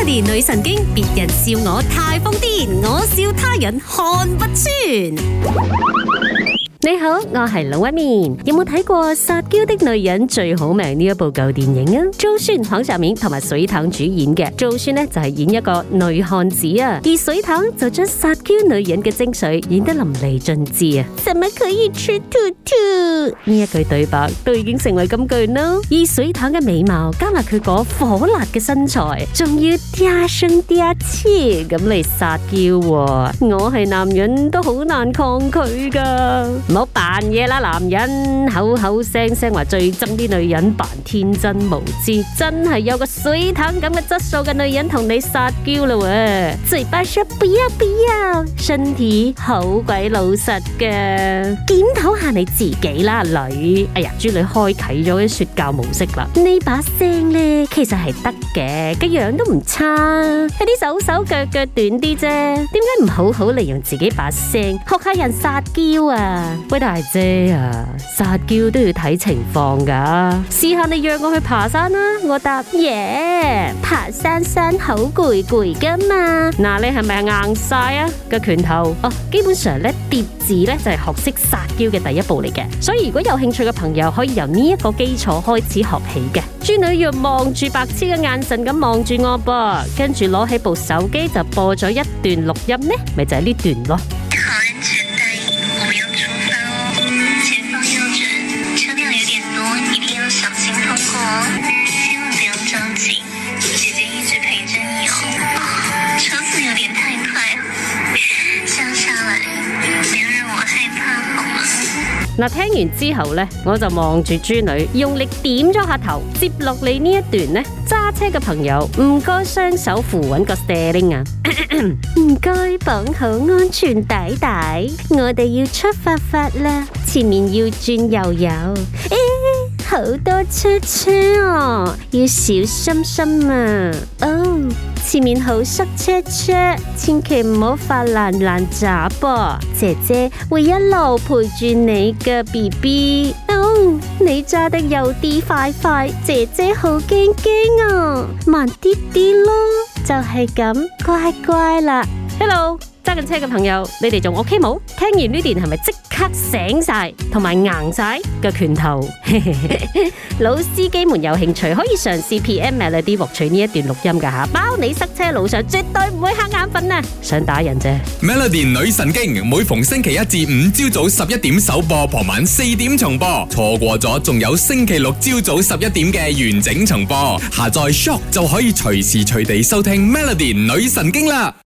Melody 女神經，別人笑我太瘋癲，我笑他人看不穿。你好，我係龍紋敏。有冇睇過《撒嬌的女人最好命》呢一部舊電影啊？周迅、黃曉明同埋水塘主演嘅。周迅呢就係演一個女漢子啊，而水塘就將撒嬌女人嘅精髓演得淋漓盡致啊！怎麼可以吃兔兔？呢一句對白都已經成為金句咯。而水塘嘅美貌加埋佢嗰火辣嘅身材，仲要嗲聲嗲氣咁嚟撒嬌，我係男人都好難抗拒噶。唔好扮嘢啦，男人口口聲聲話最憎啲女人扮天真無知，真係有個水塘咁嘅質素嘅女人同你撒嬌啦喎！嘴巴說不要不要，身體好鬼老實噶，檢討下你自己啦，女。哎呀，豬女開啟咗啲說教模式啦，呢把聲咧其實係得嘅，個樣都唔差，有啲手手腳腳短啲啫，點解唔好好利用自己把聲學下人撒嬌啊？喂，大姐啊，撒嬌都要睇情況噶。試下你約我去爬山啦，我答耶，爬山好攰噶嘛。嗱，你係咪硬晒啊個拳頭？哦，基本上咧疊字咧就係學識撒嬌嘅第一步嚟嘅。所以如果有興趣嘅朋友，可以由呢一個基礎開始學起嘅。豬女要望住白痴嘅眼神咁望住我噃，跟住攞起部手機就播咗一段錄音呢，咪就係呢段咯。嗱，聽完之後呢，我就望住豬女，用力點咗下頭。接落嚟呢一段呢，揸車嘅朋友唔該雙手扶穩個 steering 啊，唔該綁好安全帶帶，我哋要出發啦，前面要轉右右。好多車哦，要小心啊！哦，前面好塞車，千祈唔好發爛渣噃。姐姐會一路陪住你嘅 BB。哦，你揸得有啲快，姐姐好驚啊！慢啲咯，就係咁，乖啦。Hello。揸緊車嘅朋友，你哋仲 OK 冇？聽完呢段係咪即刻醒晒，同埋硬晒個拳頭？老司機們有興趣可以嘗試 PM Melody 獲取呢一段錄音噶吓，包你塞車路上絕對唔會瞌眼瞓啊！想打人啫。Melody 女神經每逢星期一至五朝早11點首播，傍晚4點重播，錯過咗仲有星期六朝早11點嘅完整重播。下載 Shock 就可以隨時隨地收聽 Melody 女神經啦。